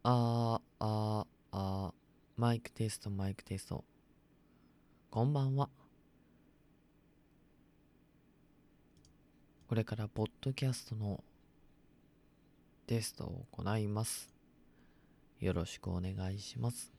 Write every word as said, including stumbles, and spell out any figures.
あーあーあーマイクテストマイクテスト。こんばんは。これからポッドキャストのテストを行います。よろしくお願いします。